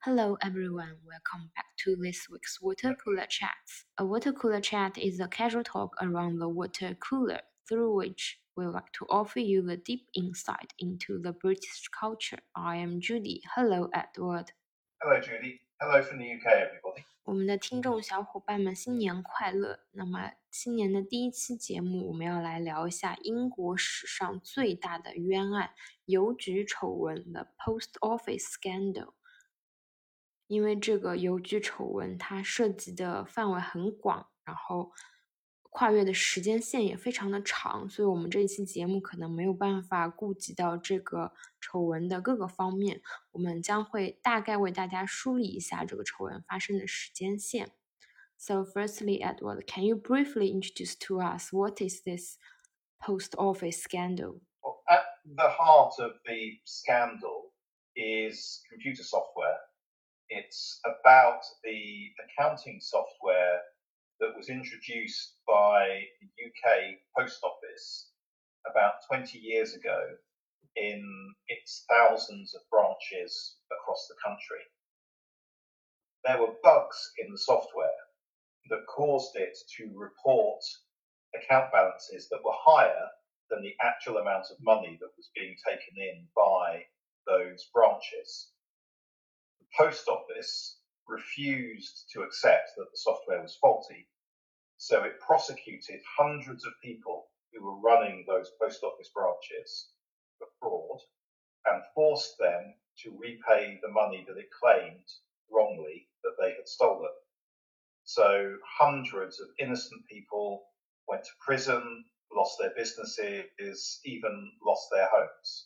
Hello everyone, welcome back to this week's Water Cooler Chats. A water cooler chat is a casual talk around the water cooler, through which we like to offer you the deep insight into the British culture. I am Judy. Hello Edward. Hello, Judy. Hello from the UK, everybody. 我们的听众小伙伴们新年快乐！那么新年的第一期节目，我们要来聊一下英国史上最大的冤案——邮局丑闻 （The Post Office Scandal）。因为这个邮局丑闻它涉及的范围很广，然后跨越的时间线也非常的长，所以我们这一期节目可能没有办法顾及到这个丑闻的各个方面，我们将会大概为大家梳理一下这个丑闻发生的时间线。So firstly, Edward, can you briefly introduce to us what is this post office scandal? Well, at the heart of the scandal is computer software. It's about the accounting software that was introduced by the UK Post Office about 20 years ago in its thousands of branches across the country. There were bugs in the software that caused it to report account balances that were higher than the actual amount of money that was being taken in by those branches. The post office refused to accept that the software was faulty, so it prosecuted hundreds of people who were running those post office branches for fraud and forced them to repay the money that it claimed wrongly that they had stolen. So hundreds of innocent people went to prison, lost their businesses, even lost their homes.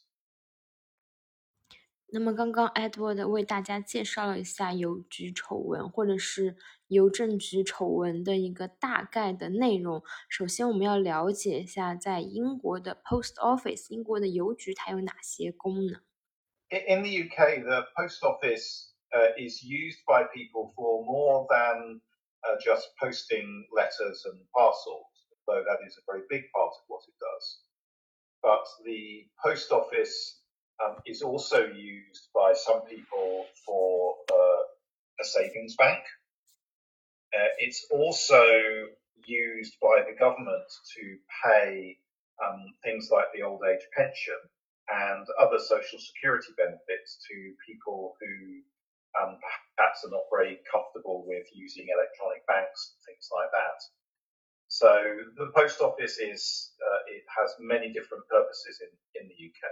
那么刚刚 Edward 为大家介绍了一下邮局丑闻或者是邮政局丑闻的一个大概的内容。首先我们要了解一下在英国的 Post Office， 英国的邮局它有哪些功能。 In the UK, the post office is used by people for more than just posting letters and parcels, though that is a very big part of what it does. But the post office is also used by some people for a savings bank. It's also used by the government to pay things like the old age pension and other social security benefits to people who perhaps are not very comfortable with using electronic banks and things like that. So the post office it has many different purposes in the UK.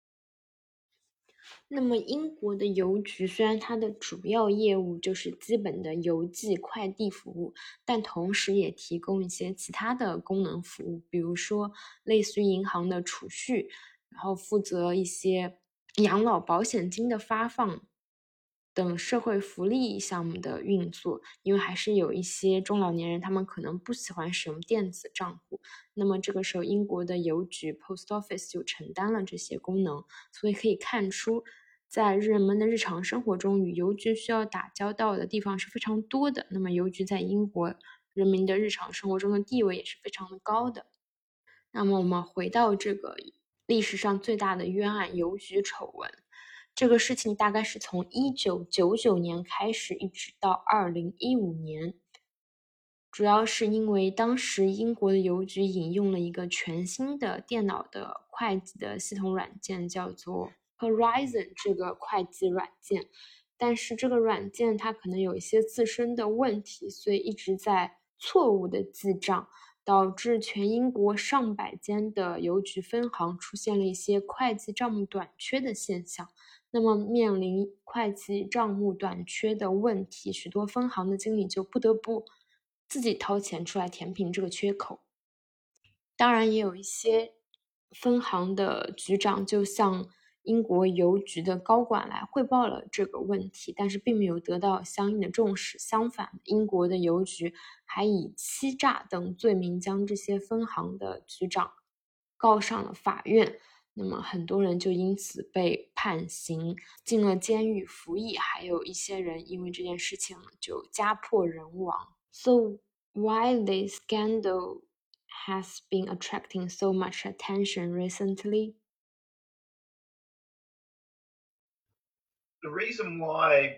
那么英国的邮局虽然它的主要业务就是基本的邮寄快递服务，但同时也提供一些其他的功能服务，比如说类似于银行的储蓄，然后负责一些养老保险金的发放等社会福利项目的运作，因为还是有一些中老年人他们可能不喜欢使用电子账户，那么这个时候英国的邮局 Post Office 就承担了这些功能，所以可以看出在人们的日常生活中与邮局需要打交道的地方是非常多的，那么邮局在英国人民的日常生活中的地位也是非常的高的。那么我们回到这个历史上最大的冤案邮局丑闻，这个事情大概是从1999年开始一直到2015年，主要是因为当时英国的邮局引用了一个全新的电脑的会计的系统软件，叫做 Horizon 这个会计软件，但是这个软件它可能有一些自身的问题，所以一直在错误的记账，导致全英国上百间的邮局分行出现了一些会计账目短缺的现象。那么面临会计账目短缺的问题，许多分行的经理就不得不自己掏钱出来填平这个缺口。当然也有一些分行的局长就向英国邮局的高管来汇报了这个问题，但是并没有得到相应的重视。相反，英国的邮局还以欺诈等罪名将这些分行的局长告上了法院。那么很多人就因此被判刑，进了监狱服役，还有一些人因为这件事情就家破人亡。So why this scandal has been attracting so much attention recently? The reason why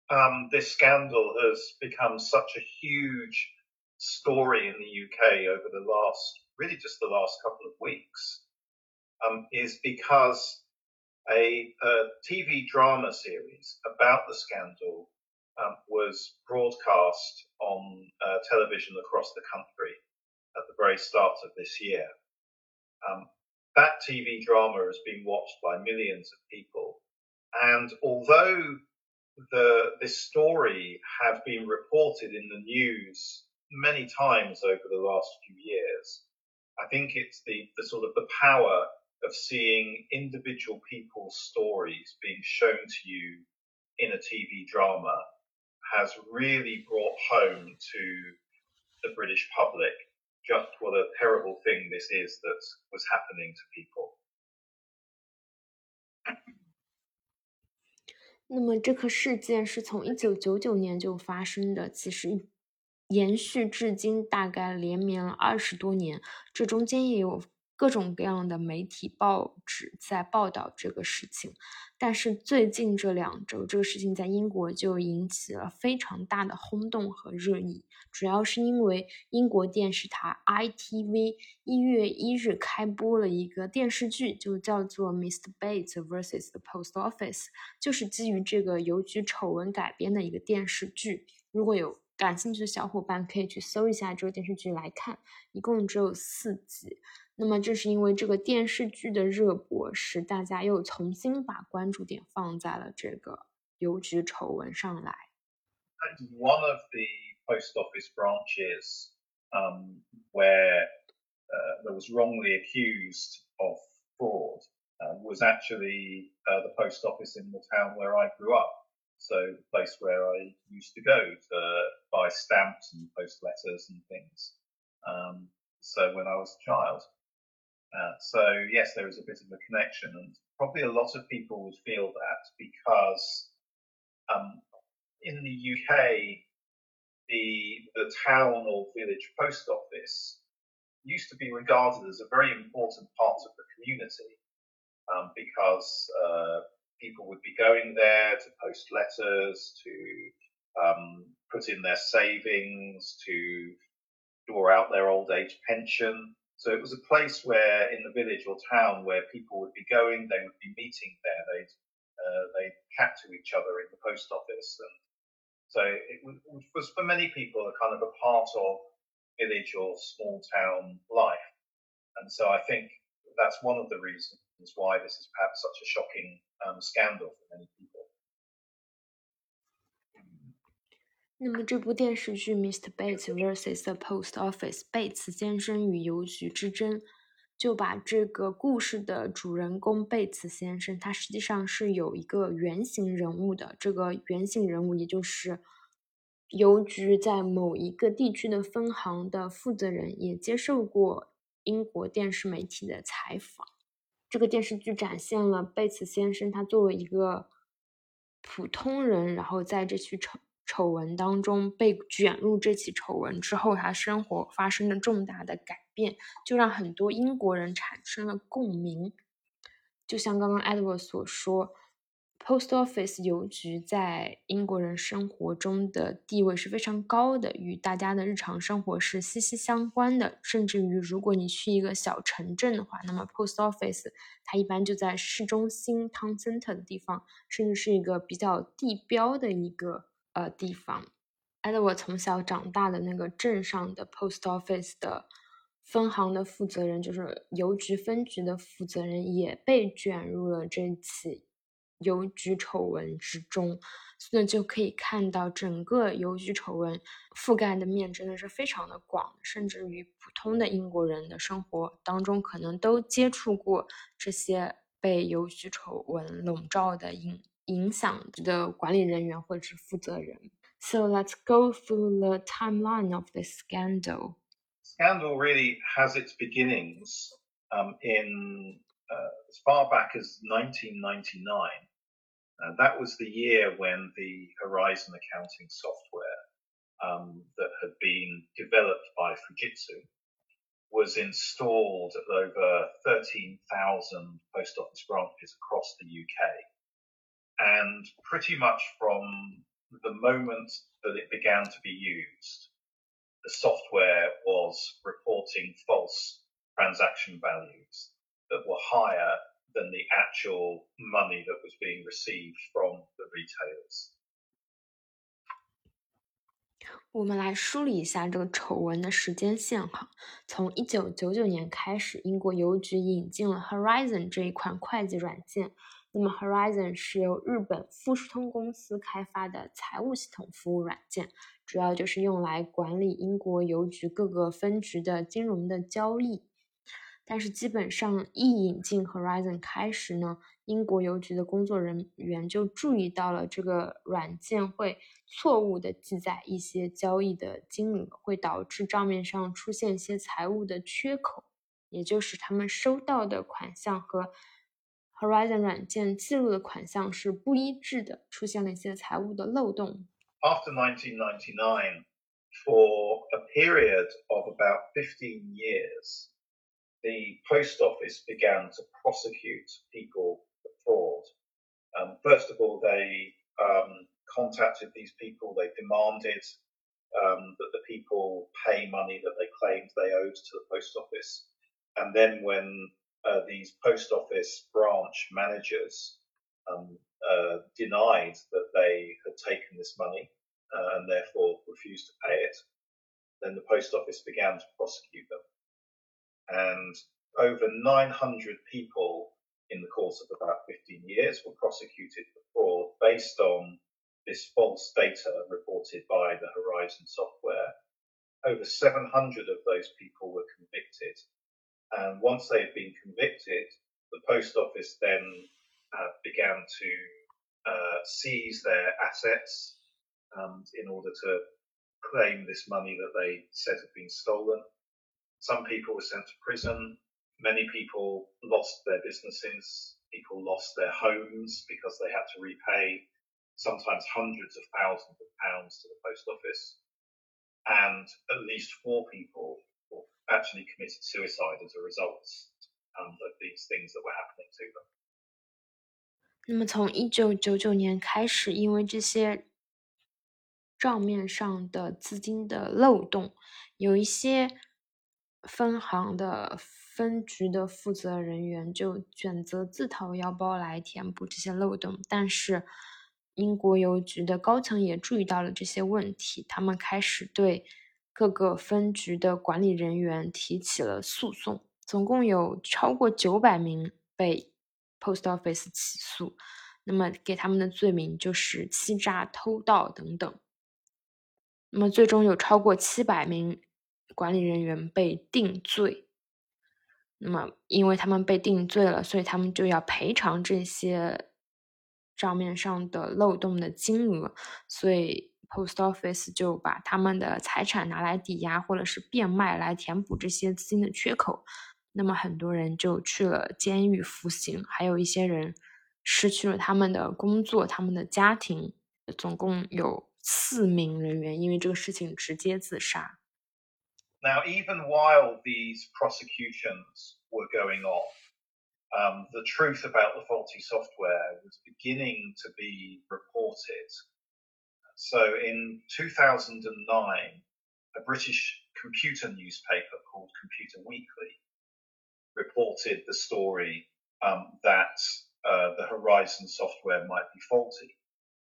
this scandal has become such a huge story in the UK over the last couple of weeks, is because a TV drama series about the scandal was broadcast on television across the country at the very start of this year. That TV drama has been watched by millions of people, and although this story had been reported in the news many times over the last few years, I think it's the sort of the power of seeing individual people's stories being shown to you in a TV drama has really brought home to the British public just what a terrible thing this is that was happening to people. 那么这个事件是从1999年就发生的，其实延续至今，大概连绵了20多年。这中间也有各种各样的媒体报纸在报道这个事情，但是最近这2周，这个事情在英国就引起了非常大的轰动和热议，主要是因为英国电视台 ITV 1月1日开播了一个电视剧，就叫做 Mr. Bates vs. the Post Office， 就是基于这个邮局丑闻改编的一个电视剧。如果有感兴趣的小伙伴可以去搜一下这个电视剧来看，一共只有4集。那么正是因为这个电视剧的热播，使大家又重新把关注点放在了这个邮局丑闻上来。 One of the post office branches where that was wrongly accused of fraud was actually the post office in the town where I grew up. So the place where I used to go to buy stamps and post letters and things. So when I was a child. So yes, there is a bit of a connection, and probably a lot of people would feel that because in the UK, the town or village post office used to be regarded as a very important part of the community because people would be going there to post letters, to put in their savings, to draw out their old age pension. So it was a place where, in the village or town, where people would be going, they would be meeting there, they'd chat to each other in the post office, and so it was for many people a kind of a part of village or small town life, and so I think that's one of the reasons why this is perhaps such a shocking scandal for many people. 那么这部电视剧 Mr. Bates vs. the Post Office 贝茨先生与邮局之争，就把这个故事的主人公贝茨先生，他实际上是有一个原型人物的，这个原型人物也就是邮局在某一个地区的分行的负责人，也接受过英国电视媒体的采访。这个电视剧展现了贝茨先生他作为一个普通人，然后在这起丑闻当中被卷入这起丑闻之后，他生活发生了重大的改变，就让很多英国人产生了共鸣。就像刚刚 Edward 所说， Post Office 邮局在英国人生活中的地位是非常高的，与大家的日常生活是息息相关的，甚至于如果你去一个小城镇的话，那么 Post Office 它一般就在市中心 Town Center 的地方，甚至是一个比较地标的一个地方。Edward 从小长大的那个镇上的 Post Office 的分行的负责人，就是邮局分局的负责人，也被卷入了这起邮局丑闻之中，所以就可以看到整个邮局丑闻覆盖的面真的是非常的广，甚至于普通的英国人的生活当中可能都接触过这些被邮局丑闻笼罩的影响的管理人员或者是负责人。So let's go through the timeline of this scandal. Scandal really has its beginnings in as far back as 1999. That was the year when the Horizon accounting software that had been developed by Fujitsu was installed at over 13,000 post office branches across the UK. And pretty much from moment that it began to be used, the software was reporting false transaction values that were higher than the actual money that was being received from the retailers. 我们来梳理一下这个丑闻的时间线哈。从1999年开始，英国邮局引进了 Horizon 这一款会计软件。那么 Horizon 是由日本富士通公司开发的财务系统服务软件，主要就是用来管理英国邮局各个分局的金融的交易。但是基本上一引进 Horizon 开始呢，英国邮局的工作人员就注意到了这个软件会错误的记载一些交易的金额，会导致账面上出现一些财务的缺口，也就是他们收到的款项和 Horizon 软件记录的款项是不一致的，出现了一些财务的漏洞。 After 1999, for a period of about 15 years, the post office began to prosecute people for fraud. First of all, they contacted these people. They demanded that the people pay money that they claimed they owed to the post office. And then when these post office branch managers denied that they had taken this money and therefore refused to pay it, then the post office began to prosecute them. And over 900 people in the course of about 15 years were prosecuted for fraud based on this false data reported by the Horizon software. Over 700 of those people were convicted. And once they had been convicted, the post office then began to seize their assets in order to claim this money that they said had been stolen. Some people were sent to prison. Many people lost their businesses. People lost their homes because they had to repay sometimes hundreds of thousands of pounds to the post office. And at least 4 people actually committed suicide as a result of these things that were happening to them. 那么从1999年开始，因为这些账面上的资金的漏洞，有一些分行的分局的负责人员就选择自掏腰包来填补这些漏洞，但是英国邮局的高层也注意到了这些问题，他们开始对各个分局的管理人员提起了诉讼，总共有超过900名被 Post Office 起诉，那么给他们的罪名就是欺诈、偷盗等等。那么最终有超过700名管理人员被定罪。那么因为他们被定罪了，所以他们就要赔偿这些账面上的漏洞的金额，所以 Post Office 就把他们的财产拿来抵押或者是变卖来填补这些资金的缺口。那么很多人就去了监狱服刑，还有一些人失去了他们的工作、他们的家庭，总共有4名人员因为这个事情直接自杀。 Now, even while these prosecutions were going on, the truth about the faulty software was beginning to be reported. So in 2009, a British computer newspaper called Computer Weekly reported the story that the Horizon software might be faulty.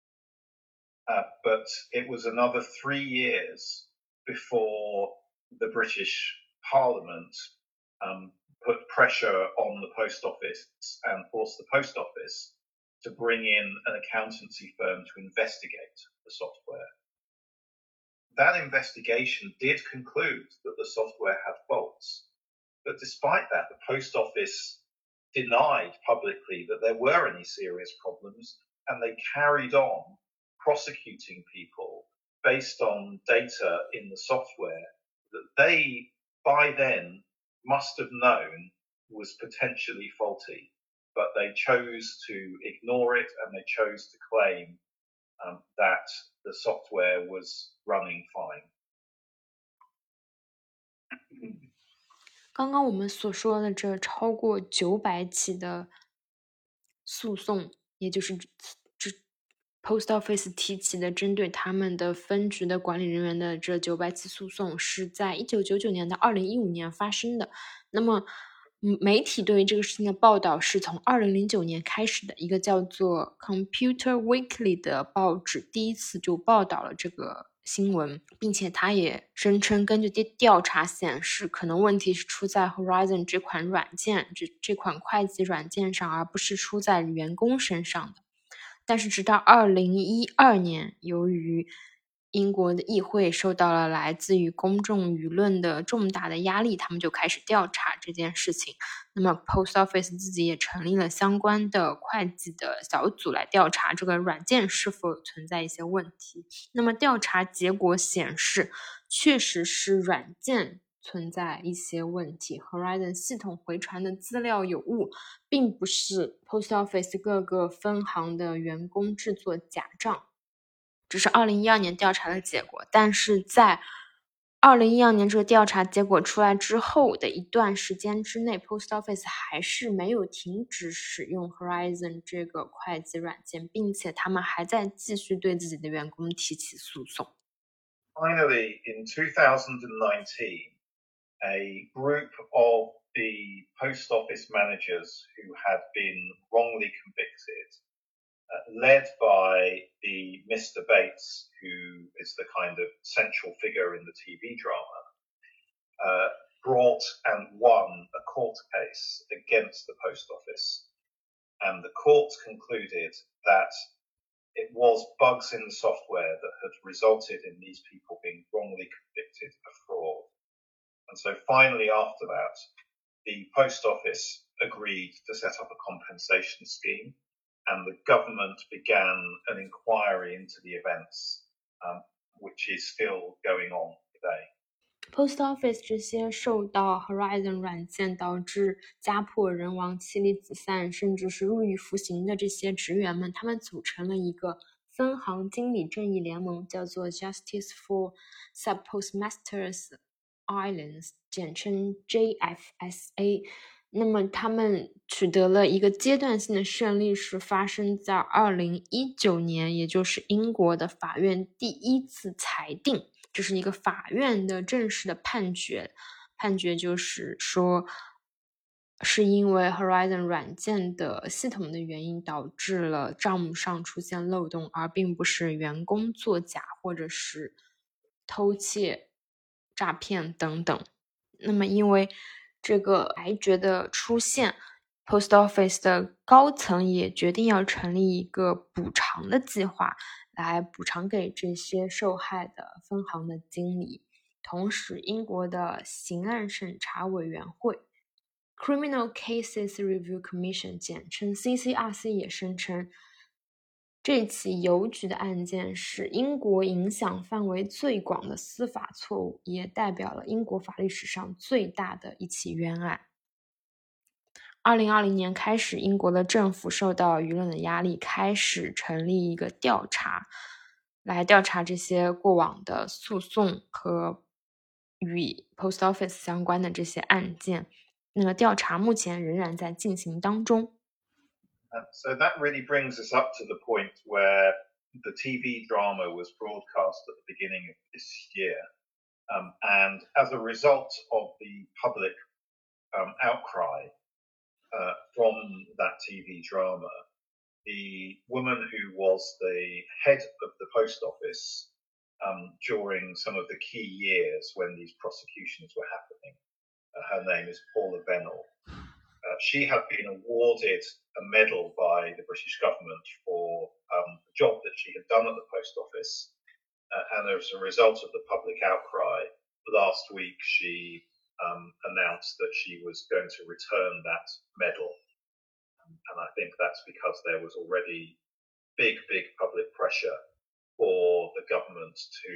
But it was another 3 years before the British Parliament put pressure on the post office and forced the post office to bring in an accountancy firm to investigate the software. That investigation did conclude that the software had faults, but despite that, the post office denied publicly that there were any serious problems, and they carried on prosecuting people based on data in the software that they, by then, must have known was potentially faulty, but they chose to ignore it and they chose to claim that the software was running fine. 刚刚我们所说的这超过900起的诉讼，也就是 Post Office 提起的针对他们的分局的管理人员的这900起诉讼是在1999年到2015年发生的。那么媒体对于这个事情的报道是从2009年开始的，一个叫做 Computer Weekly 的报纸第一次就报道了这个新闻，并且他也声称根据调查显示，可能问题是出在 Horizon 这款软件，这款会计软件上，而不是出在员工身上的。但是直到2012年，由于英国的议会受到了来自于公众舆论的重大的压力，他们就开始调查这件事情。那么 Post Office 自己也成立了相关的会计的小组来调查这个软件是否存在一些问题。那么调查结果显示，确实是软件存在一些问题， Horizon 系统回传的资料有误，并不是 Post Office 各个分行的员工制作假账。这是2012年调查的结果，但是在2012年这个调查结果出来之后的一段时间之内， Post Office 还是没有停止使用 Horizon 这个会计软件，并且他们还在继续对自己的员工提起诉讼。 Finally, in 2019, a group of the post office managers who had been wrongly convicted, led by the Mr. Bates, who is the kind of central figure in the TV drama, brought and won a court case against the post office. And the court concluded that it was bugs in the software that had resulted in these people being wrongly convicted of fraud. And so finally, after that, the post office agreed to set up a compensation scheme, and the government began an inquiry into the events, which is still going on today. Post Office 这些受到 Horizon 软件导致家破人亡、妻离子散，甚至是入狱服刑的这些职员们，他们组成了一个分行经理正义联盟，叫做 Justice for Subpostmasters Islands， 简称 JFSA。那么他们取得了一个阶段性的胜利，是发生在2019年，也就是英国的法院第一次裁定，这是一个法院的正式的判决就是说，是因为 Horizon 软件的系统的原因导致了账目上出现漏洞，而并不是员工作假或者是偷窃、诈骗等等。那么因为这个裁决的出现， Post Office 的高层也决定要成立一个补偿的计划，来补偿给这些受害的分行的经理。同时，英国的刑案审查委员会 Criminal Cases Review Commission 简称 CCRC 也声称，这起邮局的案件是英国影响范围最广的司法错误，也代表了英国法律史上最大的一起冤案。2020年开始，英国的政府受到舆论的压力，开始成立一个调查，来调查这些过往的诉讼和与 Post Office 相关的这些案件。那个调查目前仍然在进行当中。 So that really brings us up to the point where the TV drama was broadcast at the beginning of this year. And as a result of the public outcry from that TV drama, the woman who was the head of the post office during some of the key years when these prosecutions were happening, her name is Paula Bennell. She had been awarded a medal by the British government for the job that she had done at the post office. And as a result of the public outcry, last week she announced that she was going to return that medal. And I think that's because there was already big public pressure for the government to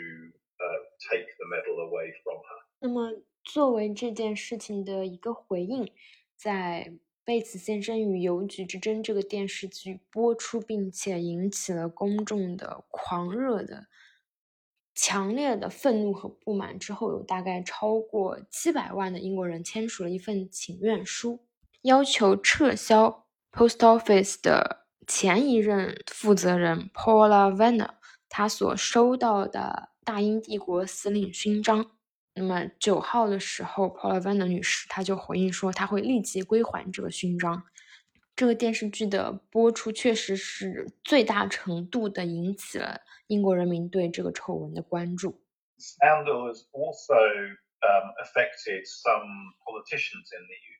take the medal away from her. 那么作为这件事情的一个回应，在贝茨先生与邮局之争这个电视剧播出，并且引起了公众的狂热的强烈的愤怒和不满之后，有大概超过700万的英国人签署了一份请愿书，要求撤销 Post Office 的前一任负责人 Paula Vanner 他所收到的大英帝国司令勋章。那么9号的时候 Paula Vanner 女士她就回应说她会立即归还这个勋章。这个电视剧的播出确实是最大程度的引起了英国人民对这个丑闻的关注。 Scandal has also affected some politicians in the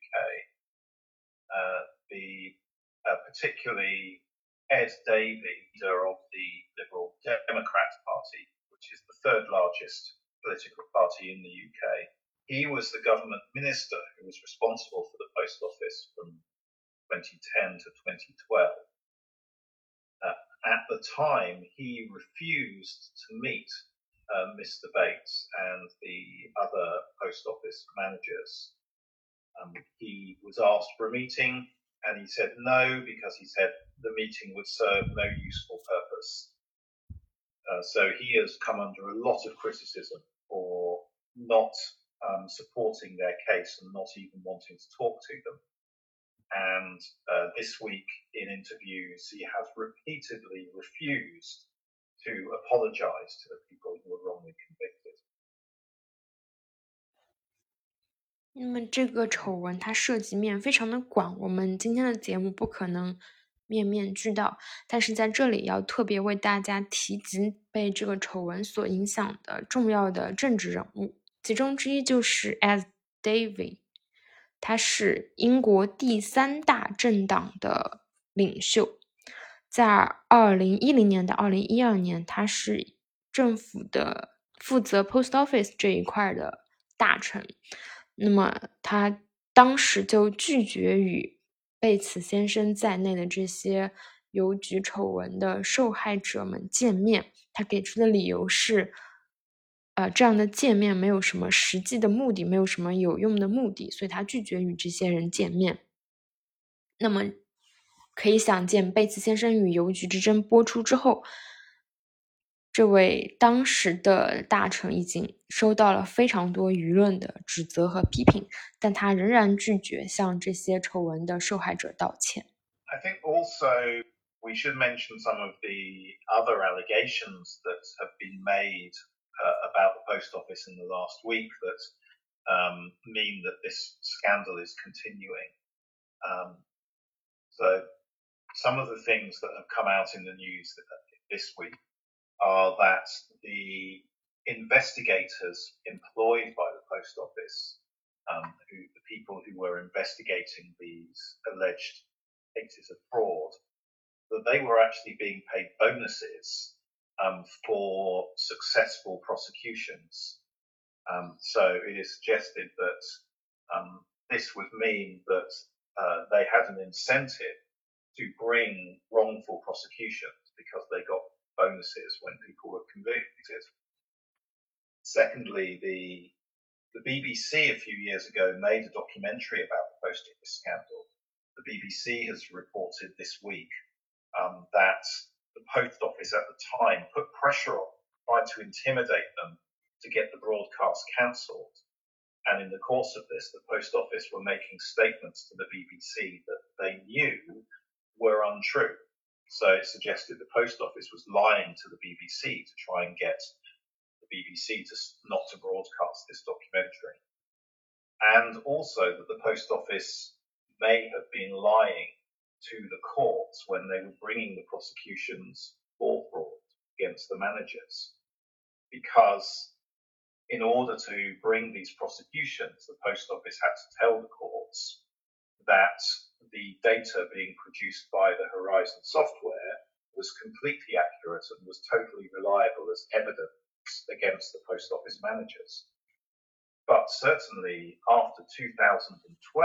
UK, particularly Ed Davey, leader of the Liberal Democrat Party, which is the third largest political party in the UK. He was the government minister who was responsible for the post office from 2010 to 2012. At the time, he refused to meet Mr. Bates and the other post office managers. He was asked for a meeting and he said no, because he said the meeting would serve no useful purpose. So he has come under a lot of criticism for not supporting their case and not even wanting to talk to them. And this week in interviews, he has repeatedly refused to apologize to the people who were wrongly convicted. 那么这个丑闻它涉及面非常的广，我们今天的节目不可能面面俱到，但是在这里要特别为大家提及被这个丑闻所影响的重要的政治人物，其中之一就是 Ed Davey， 他是英国第3大政党的领袖，在2010年到2012年，他是政府的负责 Post Office 这一块的大臣。那么他当时就拒绝与贝茨先生在内的这些邮局丑闻的受害者们见面，他给出的理由是这样的见面没有什么实际的目的，没有什么有用的目的，所以他拒绝与这些人见面。那么可以想见，贝茨先生与邮局之争播出之后，这位当时的大臣已经收到了非常多舆论的指责和批评，但他仍然拒绝向这些丑闻的受害者道歉。 I think also we should mention some of the other allegations that have been made about the post office in the last week that mean that this scandal is continuing. So some of the things that have come out in the news this week are that the investigators employed by the post office, the people who were investigating these alleged cases of fraud, that they were actually being paid bonuses for successful prosecutions. So it is suggested that this would mean that they had an incentive to bring wrongful prosecutions because they got bonuses when people were convicted. Secondly, the BBC a few years ago made a documentary about the post office scandal. The BBC has reported this week that the post office at the time put pressure on, tried to intimidate them to get the broadcast cancelled. And in the course of this, the post office were making statements to the BBC that they knew were untrue. So it suggested the post office was lying to the BBC to try and get the BBC not to broadcast this documentary. And also that the post office may have been lying to the courts when they were bringing the prosecutions for fraud against the managers. Because in order to bring these prosecutions, the post office had to tell the courts that the data being produced by the Horizon software was completely accurate and was totally reliable as evidence against the post office managers. But certainly after 2012,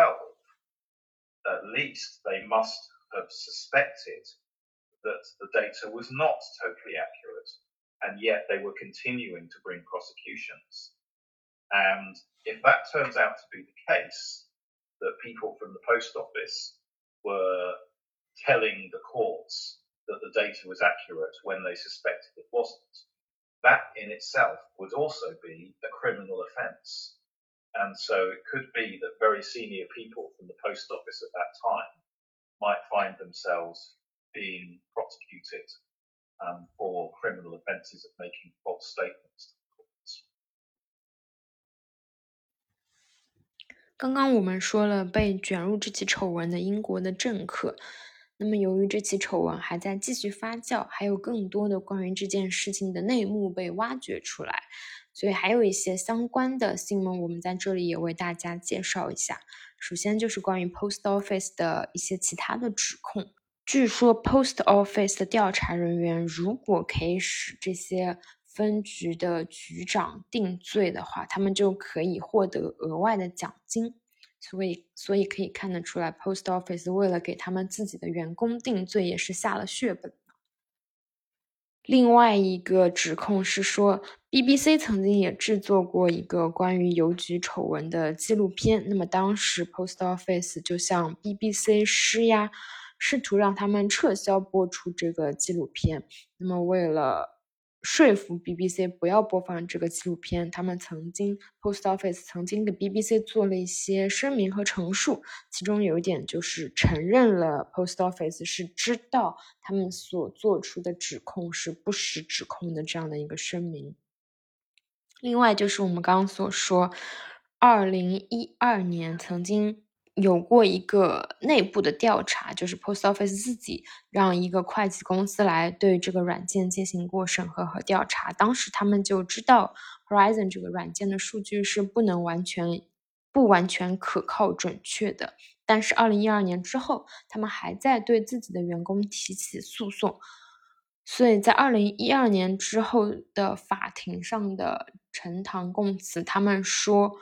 at least they must have suspected that the data was not totally accurate, and yet they were continuing to bring prosecutions. And if that turns out to be the case, that people from the post office were telling the courts that the data was accurate when they suspected it wasn't, that in itself would also be a criminal offence. And so it could be that very senior people from the post office at that time might find themselves being prosecuted for criminal offences of making false statements to courts. 刚刚我们说了被卷入这起丑闻的英国的政客，那么由于这起丑闻还在继续发酵，还有更多的关于这件事情的内幕被挖掘出来，所以还有一些相关的新闻我们在这里也为大家介绍一下。首先就是关于 Post Office 的一些其他的指控。据说 Post Office 的调查人员如果可以使这些分局的局长定罪的话，他们就可以获得额外的奖金。所以可以看得出来 Post Office 为了给他们自己的员工定罪也是下了血本。另外一个指控是说 BBC 曾经也制作过一个关于邮局丑闻的纪录片，那么当时 Post Office 就向 BBC 施压，试图让他们撤销播出这个纪录片。那么为了说服 BBC 不要播放这个纪录片，他们Post Office 曾经给 BBC 做了一些声明和陈述，其中有一点就是承认了 Post Office 是知道他们所做出的指控是不实指控的这样的一个声明。另外就是我们刚刚所说2012年曾经有过一个内部的调查，就是 Post Office 自己让一个会计公司来对这个软件进行过审核和调查，当时他们就知道 Horizon 这个软件的数据是不完全可靠准确的，但是2012年之后他们还在对自己的员工提起诉讼，所以在2012年之后的法庭上的呈堂供词，他们说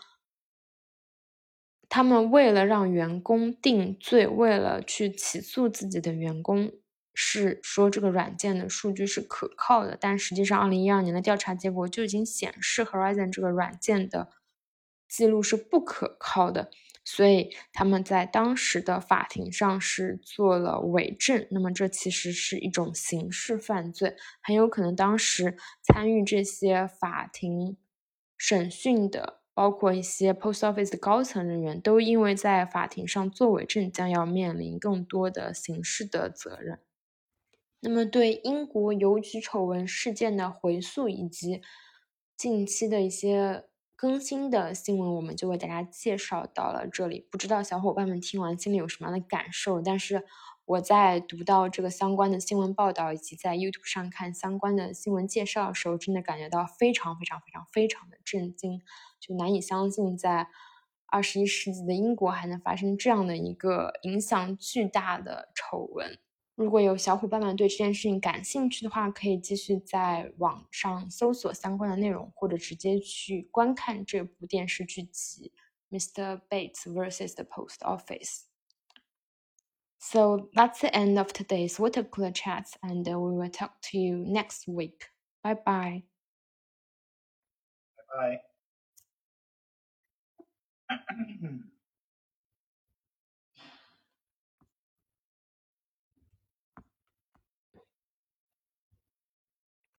他们为了让员工定罪，为了去起诉自己的员工，是说这个软件的数据是可靠的，但实际上2012年的调查结果就已经显示 Horizon 这个软件的记录是不可靠的，所以他们在当时的法庭上是做了伪证，那么这其实是一种刑事犯罪，很有可能当时参与这些法庭审讯的包括一些 Post Office 的高层人员都因为在法庭上作伪证将要面临更多的刑事的责任。那么对英国邮局丑闻事件的回溯以及近期的一些更新的新闻，我们就为大家介绍到了这里。不知道小伙伴们听完心里有什么样的感受，但是我在读到这个相关的新闻报道以及在 YouTube 上看相关的新闻介绍的时候，真的感觉到非常的震惊，就难以相信在21世纪的英国还能发生这样的一个影响巨大的丑闻。如果有小伙伴们对这件事情感兴趣的话，可以继续在网上搜索相关的内容，或者直接去观看这部电视剧集 Mr. Bates vs. the Post Office. So that's the end of today's water cooler chats, and we will talk to you next week. Bye bye. Bye.